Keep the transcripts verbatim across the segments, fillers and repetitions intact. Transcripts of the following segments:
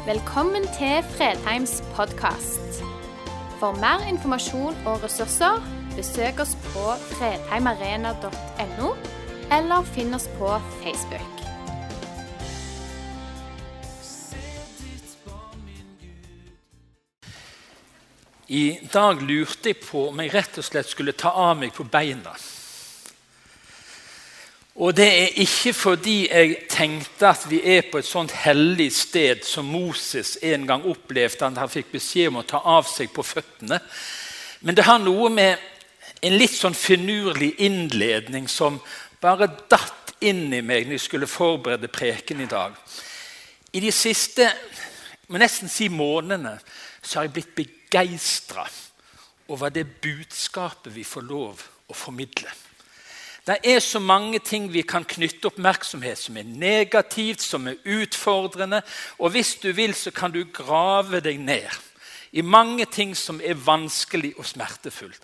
Velkommen til Fredheims podcast. For mer informasjon og ressurser, besøk oss på fredheimarena punktum no eller finn oss på Facebook. I dag lurte jeg på om jeg rett og slett skulle ta av meg på beina. Og det er ikke fordi jeg tenkte at vi er på et sånt hellig sted som Moses en gang opplevde at han fikk beskjed om å ta av seg på føttene. Men det har noe med en litt sånn finurlig innledning som bare datt inn i meg når jeg skulle forberede preken i dag. I de siste, må nesten si månedene, så har jeg blitt begeistret over det budskapet vi får lov å formidle. Det er så mange ting vi kan knytte oppmerksomhet som er negativt, som er utfordrende, og hvis du vil så kan du grave deg ned i mange ting som er vanskelig og smertefullt.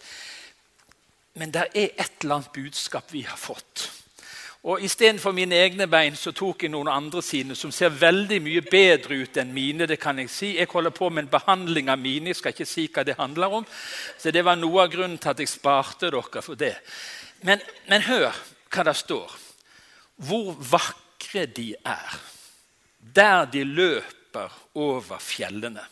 Men det er et eller annet budskap vi har fått. Og i stedet for mine egne bein så tok jeg noen andre sine som ser veldig mye bedre ut enn mine, det kan jeg si. Jeg holder på med en behandling av mine, jeg skal ikke si hva det handler om. Så det var noe av grunnen til at jeg sparte dere for det. Men, men hør hva det står. Hvor vakre de er, der de løper over fjellene.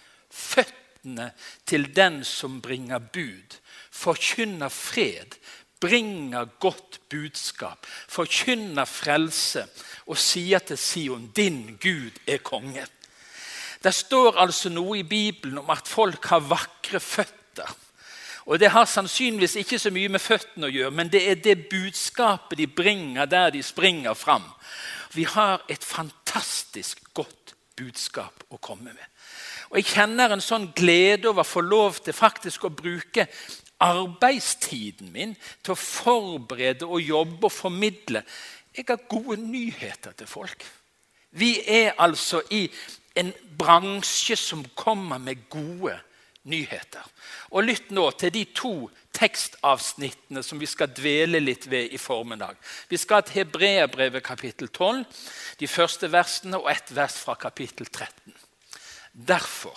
Føttene til den som bringer bud, forkynner fred, bringer godt budskap, forkynner frelse og sier til Sion, din Gud er konge. Det står altså noe i Bibelen om at folk har vakre føtter. Og det har sannsynligvis ikke så mye med føttene å gjøre, men det er det budskapet de bringer der de springer fram. Vi har et fantastisk godt budskap å komme med. Og jeg kjenner en sånn glede over å få lov til faktisk å bruke arbeidstiden min til å forberede og jobbe og formidle. Jeg har gode nyheter til folk. Vi er altså i en bransje som kommer med gode nyheter. Og lytt nå til de to tekstavsnittene som vi skal dvele litt ved i formiddag. Vi skal til Hebreerbrevet kapittel tolv, de første versene og ett vers fra kapittel tretten. Derfor,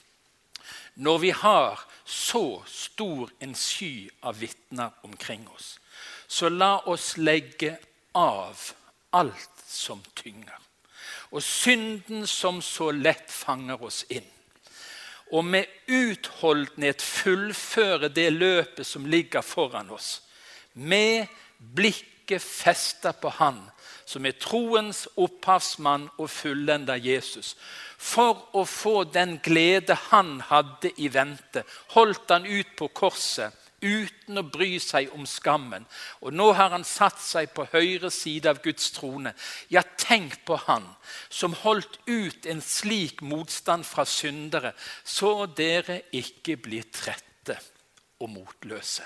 når vi har så stor en sky av vitner omkring oss, så la oss legge av alt som tynger, og synden som så lett fanger oss inn. Og med utholdenhet fullføre det løpet som ligger foran oss, med blikket festet på han, som er troens opphavsmann og fullender Jesus. For å få den glede han hadde i vente, holdt han ut på korset, uten å bry seg om skammen. Og nå har han satt seg på høyre side av Guds trone. Ja, tenk på han, som holdt ut en slik motstand fra syndere, så dere ikke blir trette og motløse.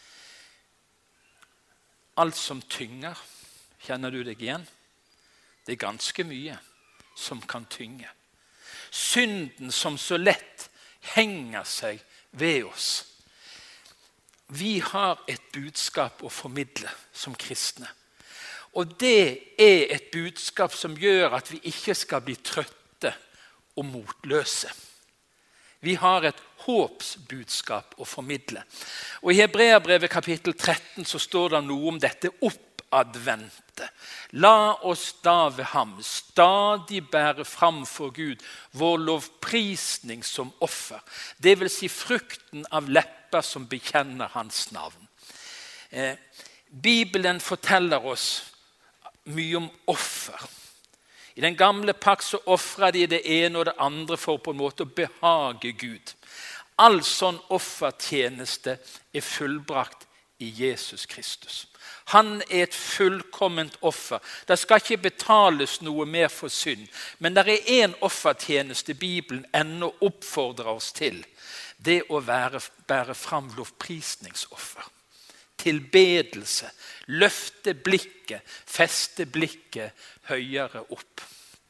Alt som tynger, kjenner du deg igjen? Det er ganske mye som kan tynge. Synden som så lett henger seg ved oss. Vi har et budskap å formidle som kristne. Og det er et budskap som gjør at vi ikke skal bli trøtte og motløse. Vi har et håpsbudskap å formidle. Og i Hebreerbrevet kapittel tretten så står det noe om dette oppadvente. La oss da ved ham stadig bære fram for Gud vår lovprisning som offer. Det vil si frukten av lepper som bekjenner hans navn. Eh, Bibelen forteller oss mye om offer. I den gamle pakt så offrer de det ene og det andre for på en måte å behage Gud. All sånn offertjeneste er fullbrakt i Jesus Kristus. Han er et fullkomment offer. Det skal ikke betales noe mer for synd. Men det er en offertjeneste Bibelen ennå oppfordrer oss til. Det å være, bære fram lovprisningsoffer. Tilbedelse. Løfte blikket. Feste blikket høyere opp.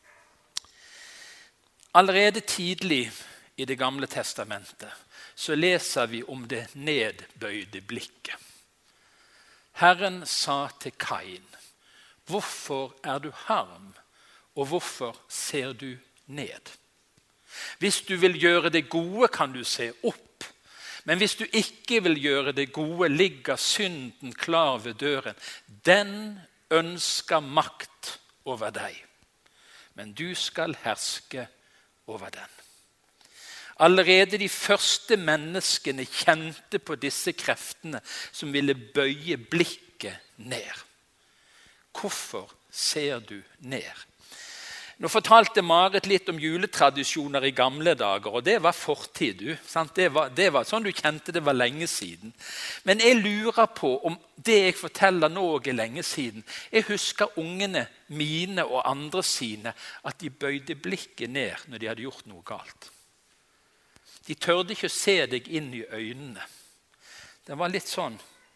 Allerede tidlig i det gamle testamentet så leser vi om det nedbøyde blikket. Herren sa til Kain, hvorfor er du harm, og hvorfor ser du ned? Hvis du vil gjøre det gode, kan du se opp. Men hvis du ikke vil gjøre det gode, ligger synden klar ved døren. Den ønsker makt over deg, men du skal herske over den. Allerede de første menneskene kjente på disse kreftene som ville bøye blikket ned. Hvorfor ser du ned? Nå fortalte Marit litt om juletradisjoner i gamle dager, og det var fortid. Du, sant? Det, var, det var sånn du kjente det var lenge siden. Men jeg lurer på om det jeg forteller nå er lenge siden. Jeg husker ungene mine og andre sine at de bøyde blikket ned når de hadde gjort noe galt. De tørde ikke å se deg inn i øynene. Det var litt sånn.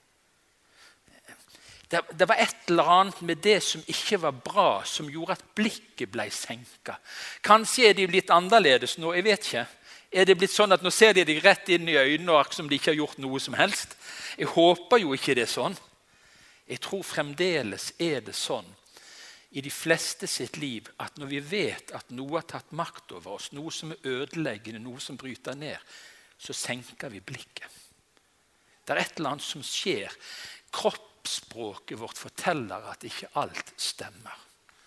Det, det var et eller annet med det som ikke var bra, som gjorde at blikket ble senket. Kanskje er de litt annerledes nå, jeg vet ikke. Er det blitt sånn at nå ser de deg rett inn i øynene, og som de ikke har gjort noe som helst? Jeg håper jo ikke det er sånn. Jeg tror fremdeles er det sånn i de fleste sitt liv, at når vi vet at noe har tatt makt over oss, noe som er ødeleggende, noe som bryter ned, så senker vi blikket. Det er et eller annet som skjer. Kroppsspråket vårt forteller at ikke alt stemmer.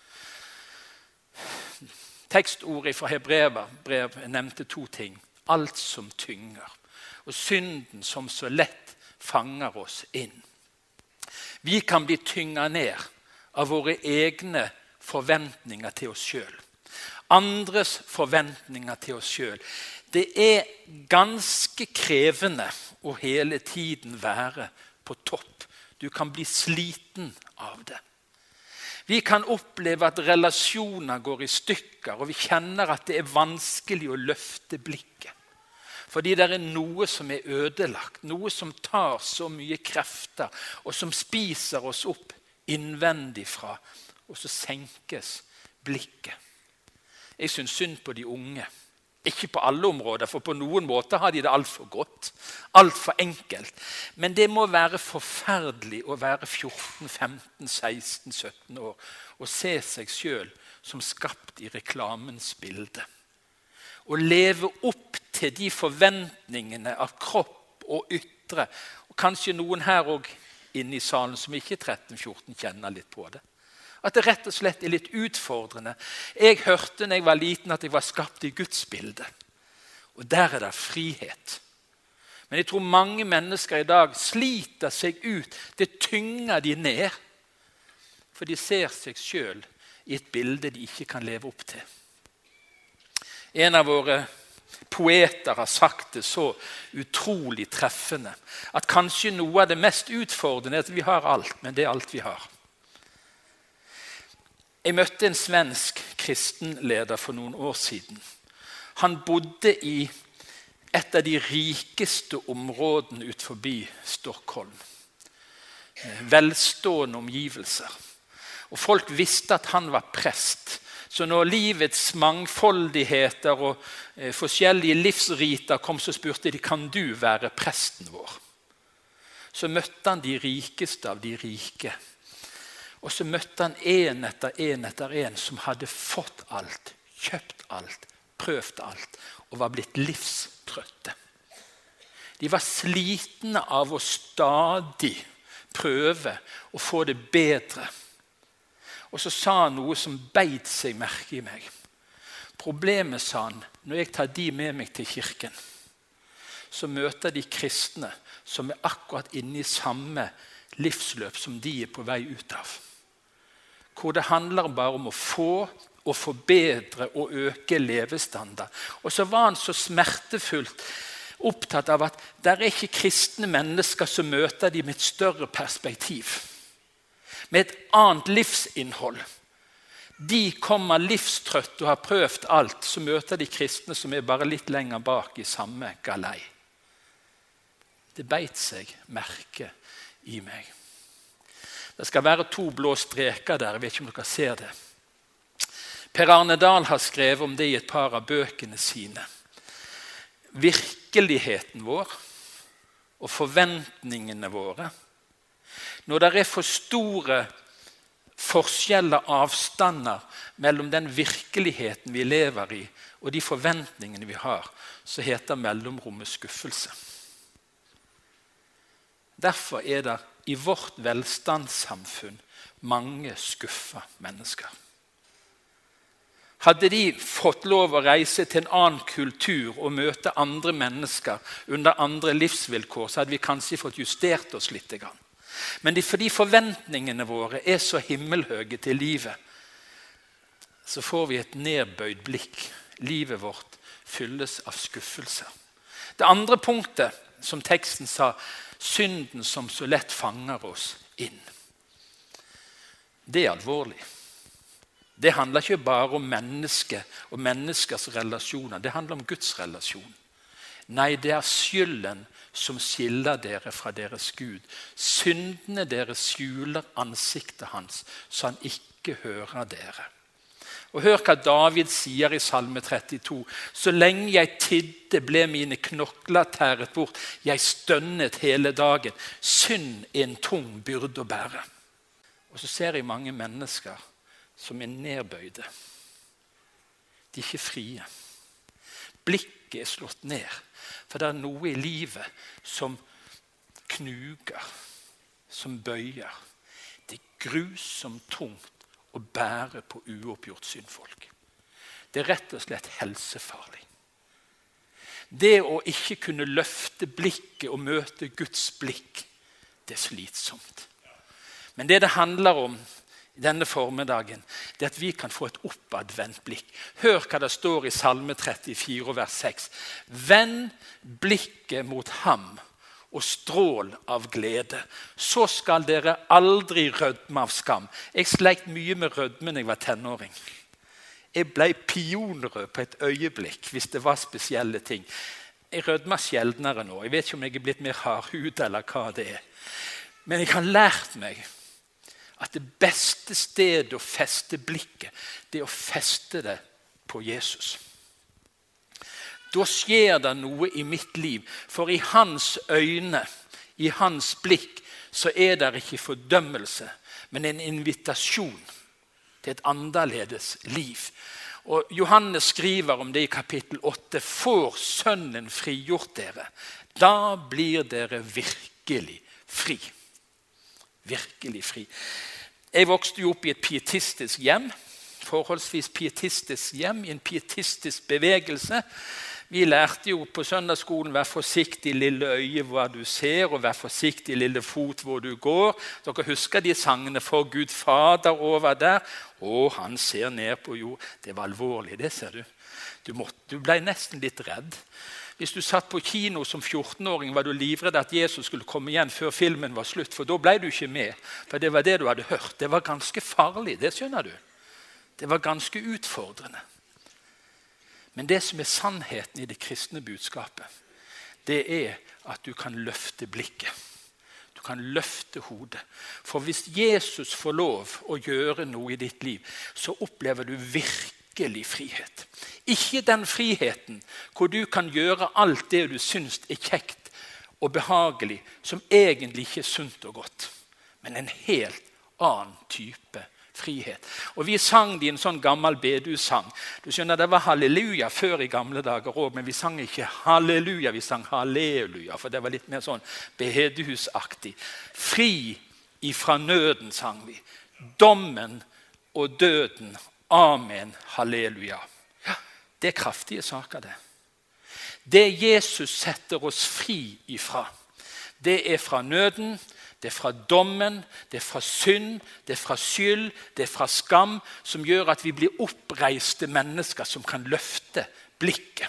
Tekstordet fra Hebreerbrev nevnte to ting. Alt som tynger, og synden som så lett fanger oss inn. Vi kan bli tynget ned av våre egne forventninger til oss selv. Andres forventninger til oss selv. Det er ganske krevende å hele tiden være på topp. Du kan bli sliten av det. Vi kan oppleve at relasjoner går i stykker, og vi kjenner at det er vanskelig å løfte blikket. Fordi det er noe som er ødelagt, noe som tar så mye krefter, og som spiser oss opp innvendig fra, og så senkes blikket. Jeg synes synd på de unge. Ikke på alle områder, for på noen måter har de det alt for godt, alt for enkelt. Men det må være forferdelig å være fjorten, femten, seksten, sytten år og se seg selv som skapt i reklamens bilde. Og leve opp til de forventningene av kropp og ytre, og kanskje noen her også inne i salen som ikke tretten fjorten kjenner litt på det. At det rett og slett er litt utfordrende. Jeg hørte når jeg var liten at jeg var skapt i Guds bilde. Og der er det frihet. Men jeg tror mange mennesker i dag sliter seg ut. Det tynger de ned. For de ser seg selv i et bilde de ikke kan leve opp til. En av våre poeter har sagt det så utrolig treffende, at kanskje noe av det mest utfordrende er at vi har alt, men det er alt vi har. Jeg møtte en svensk kristenleder for noen år siden. Han bodde i et av de rikeste områdene ut forbi Stockholm. Velstående omgivelser. Og folk visste at han var prest. Så når livets mangfoldigheter og eh, forskjellige livsriter kom, så spurte de, kan du være presten vår? Så møtte han de rikeste av de rike. Og så møtte han en etter en etter en som hadde fått alt, kjøpt alt, prøvd alt, og var blitt livstrøtte. De var slitne av å stadig prøve å få det bedre. Og så sa han noe som beit seg merke i meg. Problemet, sa han, når jeg tar de med meg til kirken, så møter de kristne som er akkurat inne i samme livsløp som de er på vei ut av. Hvor det handler bare om å få og forbedre og øke levestandard. Og så var han så smertefullt opptatt av at det er ikke kristne mennesker som møter de med et større perspektiv. Med et annet livsinnhold. De kommer livstrøtt og har prøvd alt, så møter de kristne som er bare litt lenger bak i samme galei. Det beit seg merke i meg. Det skal være to blå streker der, jeg vet ikke om dere ser det. Per Arne Dahl har skrevet om det i et par av bøkene sine. Virkeligheten vår og forventningene våre. Når det er for store forskjeller, avstander mellom den virkeligheten vi lever i, og de forventningene vi har, så heter mellomrommet skuffelse. Derfor er det i vårt velstandssamfunn mange skuffa mennesker. Hadde de fått lov å reise til en annen kultur og møte andre mennesker under andre livsvilkår, så hadde vi kanskje fått justert oss litt. Men de, fordi forventningene våre er så himmelhøye til livet, så får vi et nedbøyd blikk. Livet vårt fylles av skuffelser. Det andre punktet, som teksten sa, synden som så lett fanger oss inn. Det er alvorlig. Det handler ikke bare om mennesket og menneskers relasjoner. Det handler om Guds relasjon. Nei, det er skylden som skiller dere fra deres Gud. Syndene dere skjuler ansiktet hans, så han ikke hører dere. Og hør hva David sier i Salme trettito. Så lenge jeg tidde ble mine knokler tæret bort. Jeg stønnet hele dagen. Synd er en tung byrde å bære. Og så ser jeg mange mennesker som er nedbøyde. De er ikke frie. Blikket er slått ned. For det er noe i livet som knuger, som bøyer. Det er grusomt tungt å bære på uoppgjort syndfolk. Det er rett og slett helsefarlig. Det å ikke kunne løfte blikket og møte Guds blikk, det er slitsomt. Men det det handler om denne formiddagen, det er at vi kan få et oppadvendt blikk. Hør hva det står i Salme trettifire, vers seks. Vend blikket mot ham og strål av glede. Så skal dere aldri rødme av skam. Jeg sleit mye med rødme når jeg var tenåring. Jeg ble pionrød på et øyeblikk hvis det var spesielle ting. Jeg rødmer sjeldnere nå. Jeg vet ikke om jeg er blitt mer hardhud eller hva det er. Men jeg har lært meg at det beste stedet å feste blikket, det er å feste det på Jesus. Da skjer det noe i mitt liv, for i hans øyne, i hans blikk, så er det ikke fordømmelse, men en invitasjon til et annerledes liv. Og Johannes skriver om det i kapittel åtte. Får sønnen frigjort dere, da blir dere virkelig fri. Virkelig fri. Jeg vokste jo opp i et pietistisk hjem, forholdsvis pietistisk hjem, i en pietistisk bevegelse. Vi lærte jo på søndagsskolen, vær forsiktig lille øye hva du ser, og vær forsiktig lille fot hvor du går. Dere husker de sangene for Gud Fader over der? Å, han ser ned på jord. Det var alvorlig, det ser du. Du, måtte, du ble nesten litt redd. Hvis du satt på kino som fjortenåring, var du livredd at Jesus skulle komme igjen før filmen var slutt, for da ble du ikke med. For det var det du hadde hørt. Det var ganske farlig, det skjønner du. Det var ganske utfordrende. Men det som er sannheten i det kristne budskapet, det er at du kan løfte blikket. Du kan løfte hodet. For hvis Jesus får lov å gjøre noe i ditt liv, så opplever du virkelig frihet. Ikke den friheten hvor du kan gjøre alt det du synes er kjekt og behagelig, som egentlig ikke er sunt og godt, men en helt annen type frihet. Og vi sang det i en sånn gammel bedusang. Du skjønner, det var halleluja før i gamle dager også, men vi sang ikke halleluja, vi sang halleluja, for det var litt mer sånn bedehusaktig. Fri ifra nøden sang vi. Dommen og døden. Amen, halleluja. Ja, det er kraftige saker det. Det Jesus setter oss fri ifra, det er fra nøden, det er fra dommen, det er fra synd, det er fra skyld, det er fra skam, som gjør at vi blir oppreiste mennesker som kan løfte blikket.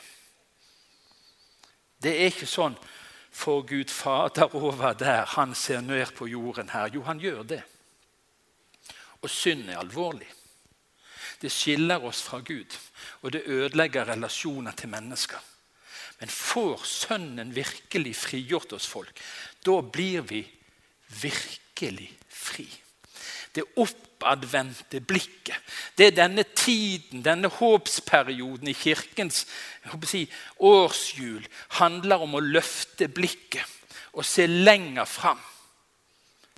Det er ikke sånn, for Gud Fader over der, han ser ned på jorden her. Jo, han gjør det. Og synd er alvorlig. Det skiller oss fra Gud, og det ødelegger relasjoner til mennesker. Men får sønnen virkelig frigjort oss folk, da blir vi virkelig fri. Det oppadvendte blikket, det er denne tiden, denne håpsperioden i kirkens jeg håper å si, årshjul, handler om å løfte blikket og se lenger fram.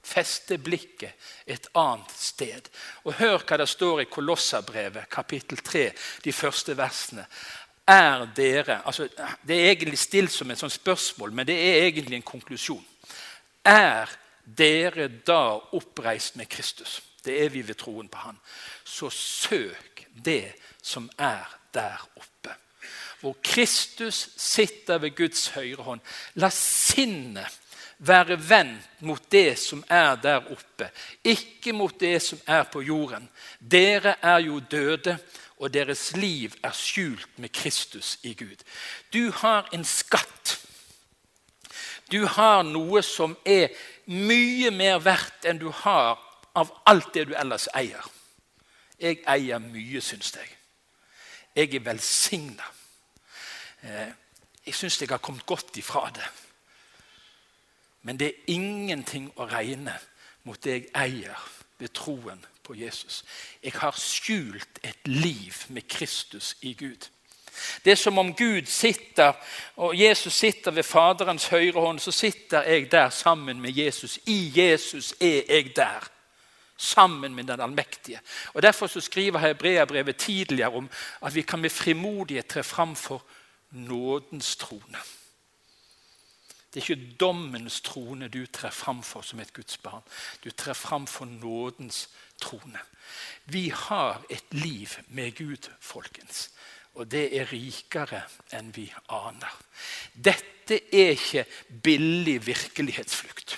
Feste blikket et annet sted. Og hør hva det står i Kolosserbrevet, kapittel tre, de første versene. Er dere, altså det er egentlig stilt som et sånt spørsmål, men det er egentlig en konklusjon. Er dere da oppreist med Kristus? Det er vi ved troen på han. Så søk det som er der oppe. Hvor Kristus sitter ved Guds høyre hånd. La sinnet være vendt mot det som er der oppe, ikke mot det som er på jorden. Dere er jo døde, og deres liv er skjult med Kristus i Gud. Du har en skatt. Du har noe som er mye mer verdt enn du har av alt det du ellers eier. Jeg eier mye, synes jeg. Jeg er velsignet. Jeg synes jeg har kommet godt ifra det. Men det er ingenting å regne mot det jeg eier ved troen på Jesus. Jeg har skjult et liv med Kristus i Gud. Det er som om Gud sitter, og Jesus sitter ved Faderens høyre hånd, så sitter jeg der sammen med Jesus. I Jesus er jeg der, sammen med den allmektige. Og derfor så skriver Hebreerbrevet tidligere om at vi kan med frimodighet tre fram for nådens trone. Det er ikke dommens trone du trer fram for som et Guds barn. Du trer fram for nådens trone. Vi har et liv med Gud, folkens. Og det er rikere enn vi aner. Dette er ikke billig virkelighetsflukt.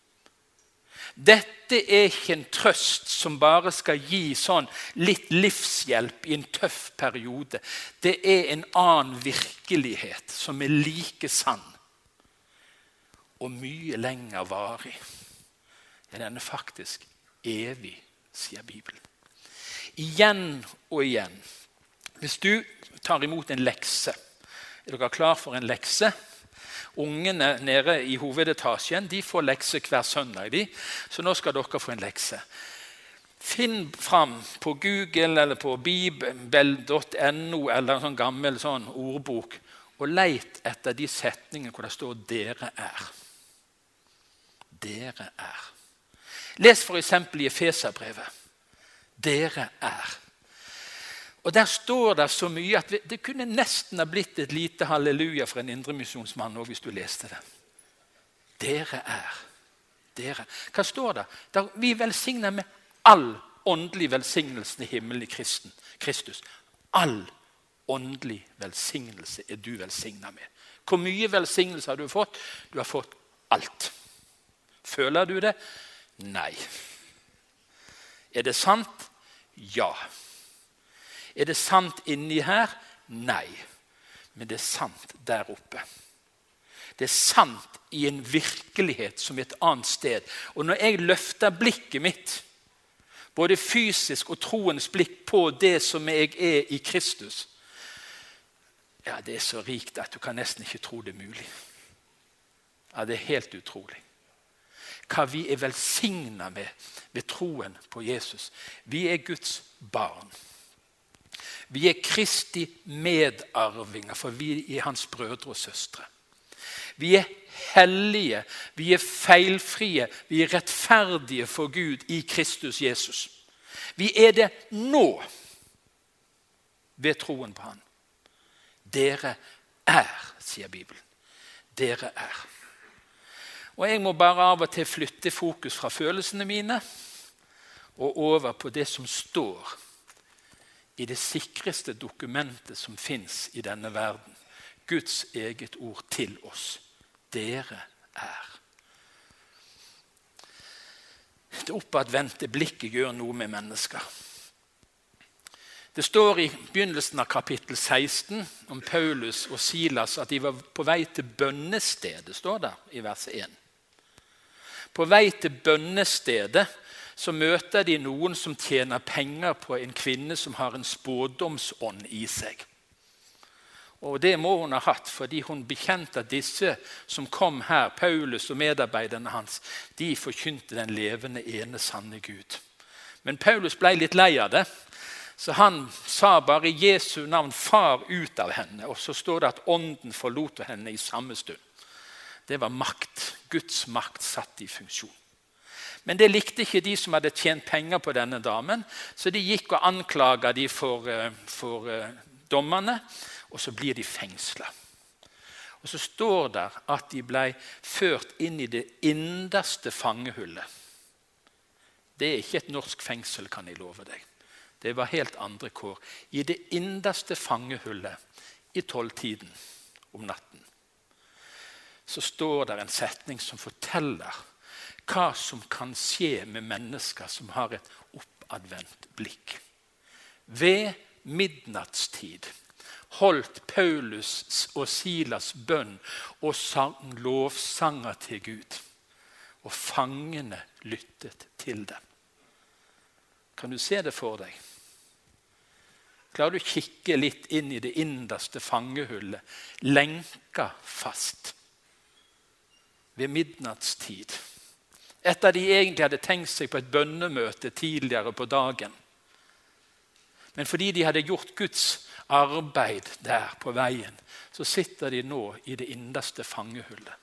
Dette er ikke en trøst som bare skal gi sånn litt livshjelp i en tøff periode. Det er en annen virkelighet som er like sann og mye lenger varig. Den er faktisk evig, sier Bibelen. Igjen og igjen. Hvis du tar imot en lekse, er dere klar for en lekse? Ungene nede i hovedetasjen, de får lekse hver søndag, de. Så nå skal dere få en lekse. Finn fram på Google eller på bibel punktum no eller en sånn gammel sånn ordbok, og leit etter de setningene hvor det står «dere er». Dere er. Les for eksempel i Efeserbrevet. Dere er. Og der står det så mye at det kunne nesten ha blitt et lite halleluja for en indremisjonsmann også, hvis du leste det. Dere er. Dere. Hva står det? Der vi velsigner med all åndelig velsignelse i himmelen i kristen, Kristus. All åndelig velsignelse er du velsignet med. Hvor mye velsignelse har du fått? Du har fått alt. Føler du det? Nei. Er det sant? Ja. Er det sant inni her? Nei. Men det er sant der oppe. Det er sant i en virkelighet som et annet sted. Og når jeg løfter blikket mitt, både fysisk og troens blikk på det som jeg er i Kristus, ja, det er så rikt at du kan nesten ikke tro det mulig. Ja, det er helt utrolig. Hva vi er velsignet med ved troen på Jesus. Vi er Guds barn. Vi er Kristi medarvinger, for vi er hans brødre og søstre. Vi er hellige, vi er feilfrie, vi er rettferdige for Gud i Kristus Jesus. Vi er det nå ved troen på han. Dere er, sier Bibelen. Dere er. Og jeg må bare av og til flytte fokus fra følelsene mine og over på det som står i det sikreste dokumentet som finnes i denne verden. Guds eget ord til oss. Dere er. Det oppadvendte blikket gjør noe med mennesker. Det står i begynnelsen av kapittel seksten om Paulus og Silas at de var på vei til bønnestedet, står det i vers én. På vei til bønnestedet så møter de noen som tjener penger på en kvinne som har en spådomsånd i seg. Og det må hun ha hatt, fordi hun bekjente at disse som kom her, Paulus og medarbeiderne hans, de forkynte den levende ene sanne Gud. Men Paulus ble litt lei av det, så han sa bare i Jesu navn, far ut av henne, og så står det at ånden forlot henne i samme stund. Det var makt, Guds makt satt i funksjon. Men det likte ikke de som hadde tjent penger på denne damen, så de gikk og anklaget de for, for dommerne, og så blir de fengslet. Og så står det at de ble ført inn i det innerste fangehullet. Det er ikke et norsk fengsel, kan jeg love deg. Det var helt andre kår. I det innerste fangehullet i tolvtiden om natten, så står det en setning som forteller hva som kan skje med mennesker som har et oppadvendt blikk. Ved midnattstid holdt Paulus og Silas bønn og sang lovsanger til Gud. Og fangene lyttet til dem. Kan du se det for deg? Klarer du å kikke litt inn i det innerste fangehullet, lenka fast ved midnattstid, etter de egentlig hadde tenkt seg på et bønnemøte tidligere på dagen. Men fordi de hadde gjort Guds arbeid der på veien, så sitter de nå i det innerste fangehullet.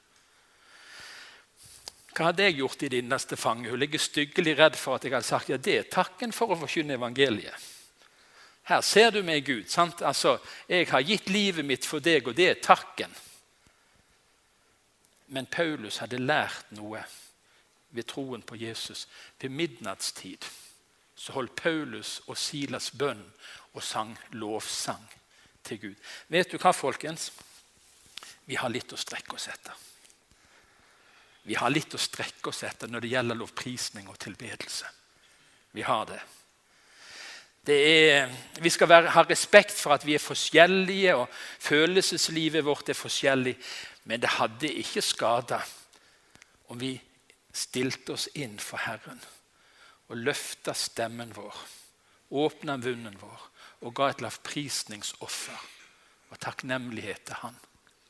Hva hadde jeg gjort i det innerste fangehullet? Jeg er styggelig redd for at jeg hadde sagt, ja, det er takken for å forkynne evangeliet. Her ser du meg, Gud, sant? Altså, jeg har gitt livet mitt for deg, og det er takken. Men Paulus hadde lært noe ved troen på Jesus. Ved midnattstid så holdt Paulus og Silas bønn og sang lovsang til Gud. Vet du hva, folkens? Vi har litt å strekke oss etter. Vi har litt å strekke oss etter når det gjelder lovprisning og tilbedelse. Vi har det. Det er, vi skal være, ha respekt for at vi er forskjellige, og følelseslivet vårt er forskjellig. Men det hadde ikke skadet om vi stilte oss inn for Herren og løftet stemmen vår, åpnet munnen vår og ga et lovprisningsoffer og takknemlighet til Han.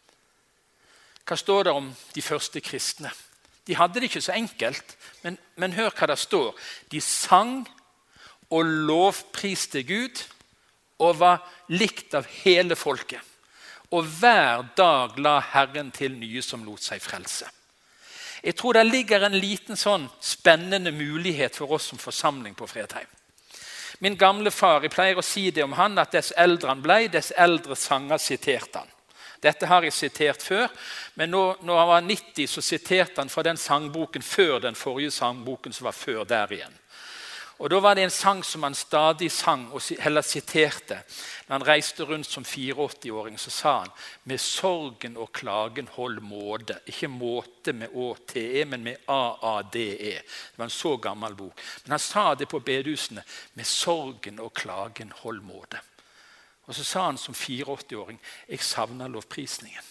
Hva står det om de første kristne? De hadde det ikke så enkelt, men, men hør hva det står. De sang og lovpriste Gud og var likt av hele folket. Og hver dag la Herren til nye som lot seg frelse. Jeg tror det ligger en liten sånn spennende mulighet for oss som forsamling på Fredheim. Min gamle far, jeg pleier å si det om han, at dess eldre han ble, dess eldre sanger siterte han. Dette har jeg sitert før, men nå, når han var nitti, så siterte han fra den sangboken før den forrige sangboken som var før der igjen. Og da var det en sang som han stadig sang, og heller siterte. Når han reiste rundt som åttiofire-åring, så sa han, med sorgen og klagen hold måte. Ikke måte med Å-T-E, men med A-A-D-E. Det var en så gammel bok. Men han sa det på bedehusene, med sorgen og klagen hold måte. Og så sa han som åttiofire-åring, jeg savner lovprisningen.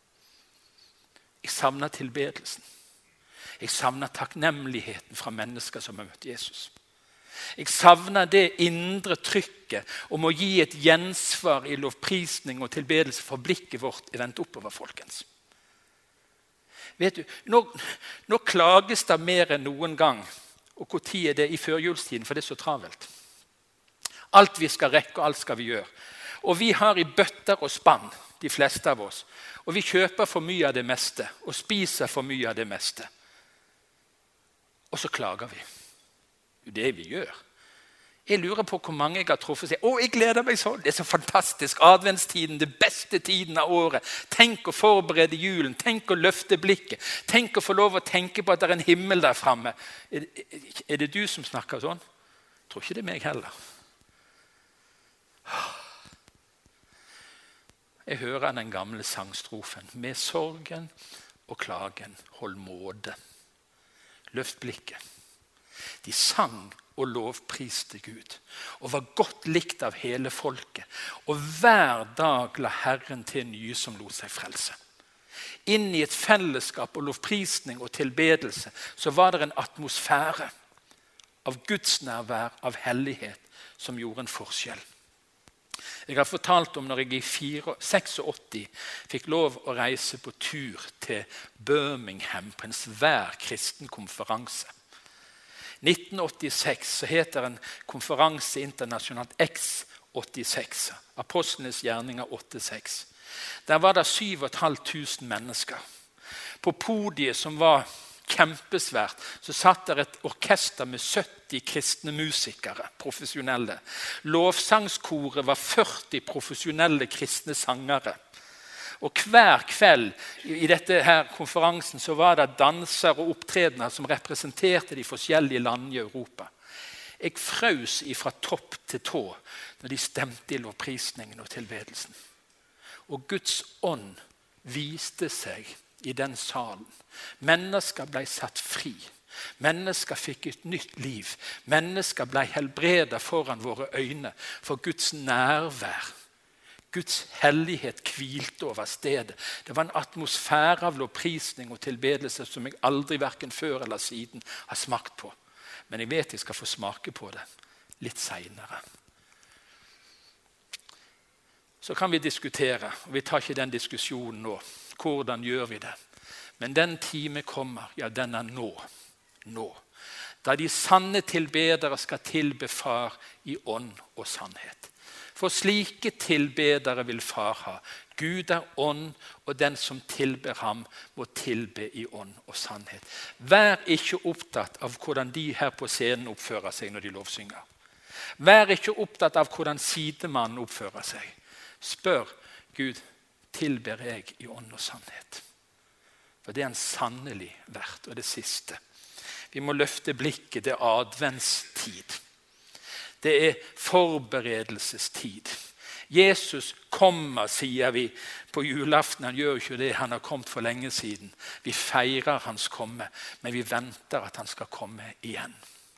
Jeg savner tilbedelsen. Jeg savner takknemligheten fra mennesker som har møtt Jesus. Jeg savner det indre trykket om å gi et gjensvar i lovprisning og tilbedelse for blikket vårt er vendt oppover, folkens. Vet du, nå, nå klages det mer enn noen gang, og hvor tid er det i førjulstiden, for det er så travelt. Alt vi skal rekke, og alt skal vi gjøre. Og vi har i bøtter og spann, de fleste av oss, og vi kjøper for mye av det meste, og spiser for mye av det meste. Og så klager vi. Det vi gjør. Jeg lurer på hvor mange jeg har truffet seg. Å, jeg gleder meg sånn. Det er så fantastisk. Adventstiden, det beste tiden av året. Tenk å forberede julen. Tenk å løfte blikket. Tenk å få lov å tenke på at det er en himmel der fremme. Er, er det du som snakker sånn? Jeg tror ikke det er meg heller. Jeg hører den gamle sangstrofen. Med sorgen og klagen hold måte. Løft blikket. De sang og lovpriste Gud, og var godt likt av hele folket. Og hver dag la Herren til nye som lot seg frelse. Inn i et fellesskap og lovprisning og tilbedelse, så var det en atmosfære av Guds nærvær, av hellighet, som gjorde en forskjell. Jeg har fortalt om når jeg i åttiseks fikk lov å reise på tur til Birmingham på en svær kristen konferanse. nitten åttiseks så heter en konferanse internasjonalt X åttiseks, Apostlenes gjerninger åttiseks. Der var det syv og et halvt tusen mennesker. På podiet som var kjempesvært, så satt der et orkester med sytti kristne musikere, profesjonelle. Lovsangskoret var førti profesjonelle kristne sangere. Og hver kveld i dette her konferansen så var det danser og opptredener som representerte de forskjellige landene i Europa. Jeg frøs ifra topp til tå når de stemte i lovprisningen og tilbedelsen. Og Guds ånd viste seg i den salen. Mennesker ble satt fri. Mennesker fikk et nytt liv. Mennesker ble helbredet foran våre øyne. For Guds nærvær, Guds hellighet hvilte over stedet. Det var en atmosfære av lovprisning og tilbedelse som jeg aldri hverken før eller siden har smakt på. Men jeg vet jeg skal få smake på det litt senere. Så kan vi diskutere, og vi tar ikke den diskusjonen nå. Hvordan gjør vi det? Men den time kommer, ja den er nå. Nå. Da de sanne tilbedere skal tilbe far i ånd og sannhet. For slike tilbedere vil far ha. Gud er ånd, og den som tilber ham må tilbe i ånd og sannhet. Vær ikke opptatt av hvordan de her på scenen oppfører seg når de lovsynger. Vær ikke opptatt av hvordan sidemannen oppfører seg. Spør Gud, tilber jeg i ånd og sannhet? For det er en sannelig verdt, og det siste. Vi må løfte blikket, det er adventstid. Det er forberedelsestid. Jesus kommer, sier vi på julaften. Han gjør ikke det, han har kommet for lenge siden. Vi feirer hans komme, men vi venter at han skal komme igjen.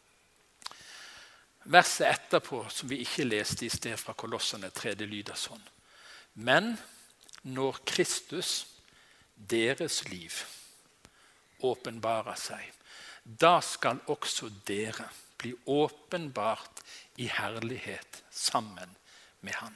Verset etterpå, som vi ikke leste i sted fra Kolosserne tre, det lyder sånn. Men når Kristus, deres liv, åpenbarer seg, da skal også dere bli åpenbart i herlighet sammen med han.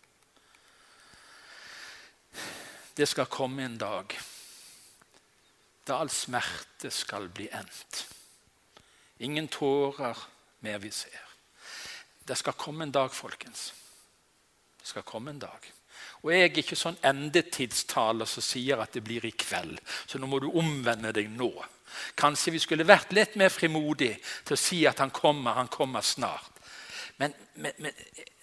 Det skal komme en dag da all smerte skal bli endt. Ingen tårer mer vi ser. Det skal komme en dag, folkens. Det skal komme en dag. Og jeg er ikke sånn endetidstaler som sier at det blir i kveld. Så nå må du omvende deg nå. Kanskje vi skulle vært litt mer frimodig til å si at han kommer, han kommer snart. Men, men, men,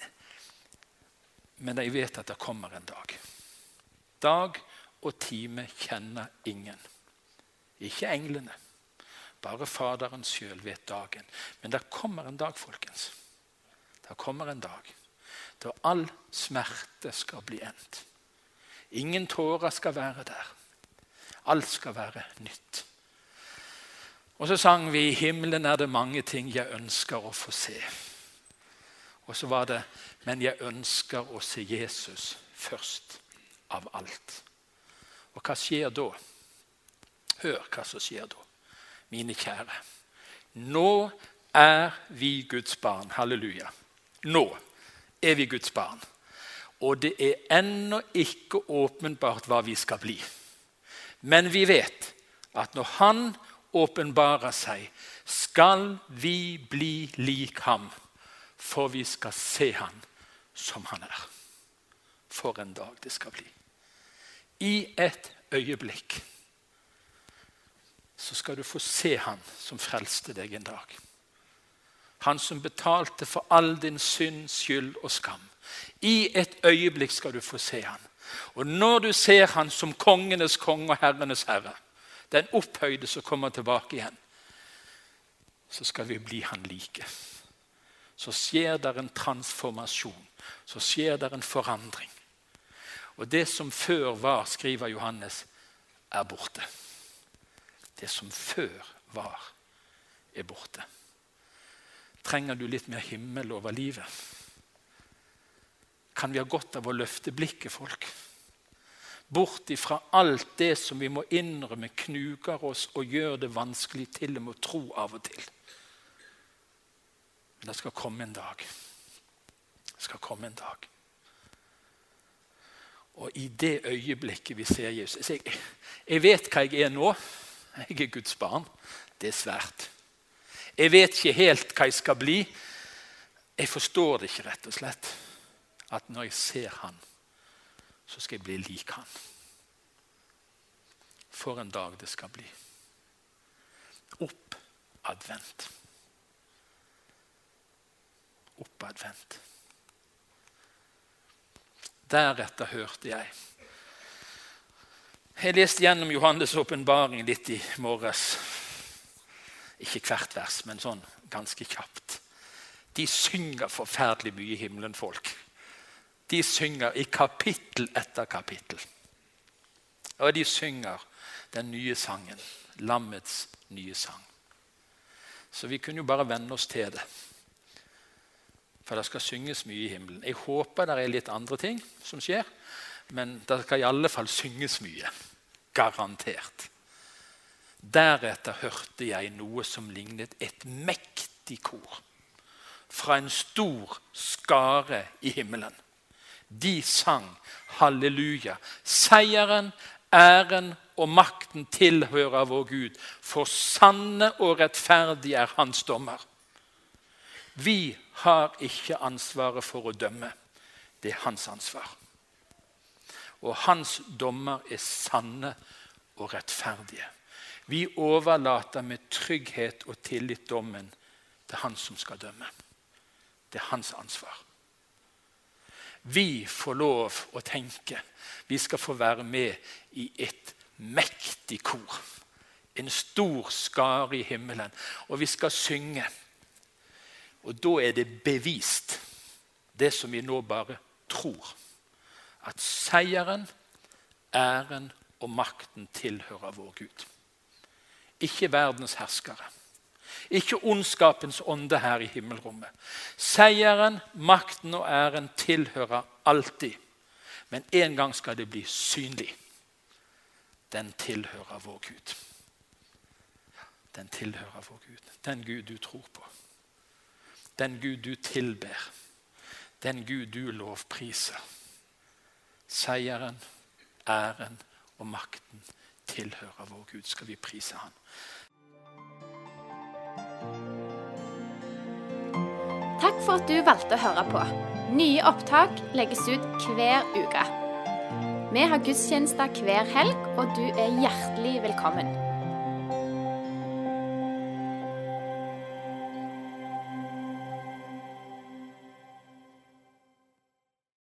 men jeg vet at det kommer en dag. Dag og time kjenner ingen. Ikke englene. Bare Faderen selv vet dagen. Men det kommer en dag, folkens. Det kommer en dag da all smerte skal bli endt. Ingen tårer skal være der. Alt skal være nytt. Og så sang vi, i himmelen er det mange ting jeg ønsker å få se. Og så var det, men jeg ønsker å se Jesus først av alt. Og hva skjer da? Hør hva som skjer da, mine kjære. Nå er vi Guds barn, halleluja. Nå er vi Guds barn. Og det er ennå ikke åpenbart hva vi skal bli. Men vi vet at når han åpenbarer seg, skal vi bli lik ham, for vi skal se han som han er. For en dag det skal bli. I et øyeblikk så skal du få se han som frelste deg en dag. Han som betalte for all din synd, skyld og skam. I et øyeblikk skal du få se han. Og når du ser han som kongenes konge og herrenes herre, den opphøyde som kommer tilbake igjen, så skal vi bli han like. Så skjer der en transformasjon. Så skjer der en forandring. Og det som før var, skriver Johannes, er borte. Det som før var, er borte. Trenger du litt mer himmel over livet? Kan vi ha godt av å løfte blikket, folk? Bort ifra alt det som vi må innrømme knuger oss og gjør det vanskelig til å tro av og til. Men det skal komme en dag. Det skal komme en dag. Og i det øyeblikket vi ser Jesus, jeg, jeg vet hva jeg er nå. Jeg er Guds barn. Det er svært. Jeg vet ikke helt hva jeg skal bli. Jeg forstår det ikke rett og slett. At når jeg ser han, så skal jeg bli lik han. For en dag det skal bli. oppadvendt. Oppadvendt. Deretter hørte jeg. Jeg leste gjennom Johannes åpenbaring litt i morges. Ikke hvert vers, men sånn ganske kjapt. De synger forferdelig mye i himmelen, folk. De synger i kapittel etter kapittel. Og de synger den nye sangen, lammets nye sang. Så vi kunne jo bare vende oss til det. For det skal synges mye i himmelen. Jeg håper det er litt andre ting som skjer, men det skal i alle fall synges mye. Garantert. Deretter hørte jeg noe som lignet et mektig kor fra en stor skare i himmelen. De sang halleluja. Seieren, æren og makten tilhører vår Gud, for sanne og rettferdig er hans dommer. Vi har ikke ansvaret for å dømme. Det er hans ansvar. Og hans dommer er sanne og rettferdige. Vi overlater med trygghet og tillit dommen til han som skal dømme. Det er hans ansvar. Vi får lov å tenke. Vi skal få være med i et mektig kor. En stor skare i himmelen. Og vi skal synge. Og da er det bevist, det som vi nå bare tror, at seieren, æren og makten tilhører vår Gud. Ikke verdens herskere. Ikke ondskapens ånde her i himmelrommet. Seieren, makten og æren tilhører alltid. Men en gang skal det bli synlig. Den tilhører vår Gud. Den tilhører vår Gud. Den Gud du tror på. Den Gud du tilber. Den Gud du lovpriser. Seieren, æren og makten tilhører vår Gud. Skal vi prise han. Takk for at du valgte å høre på. Nye opptak legges ut hver uke. Vi har gudstjenester hver helg, og du er hjertelig velkommen.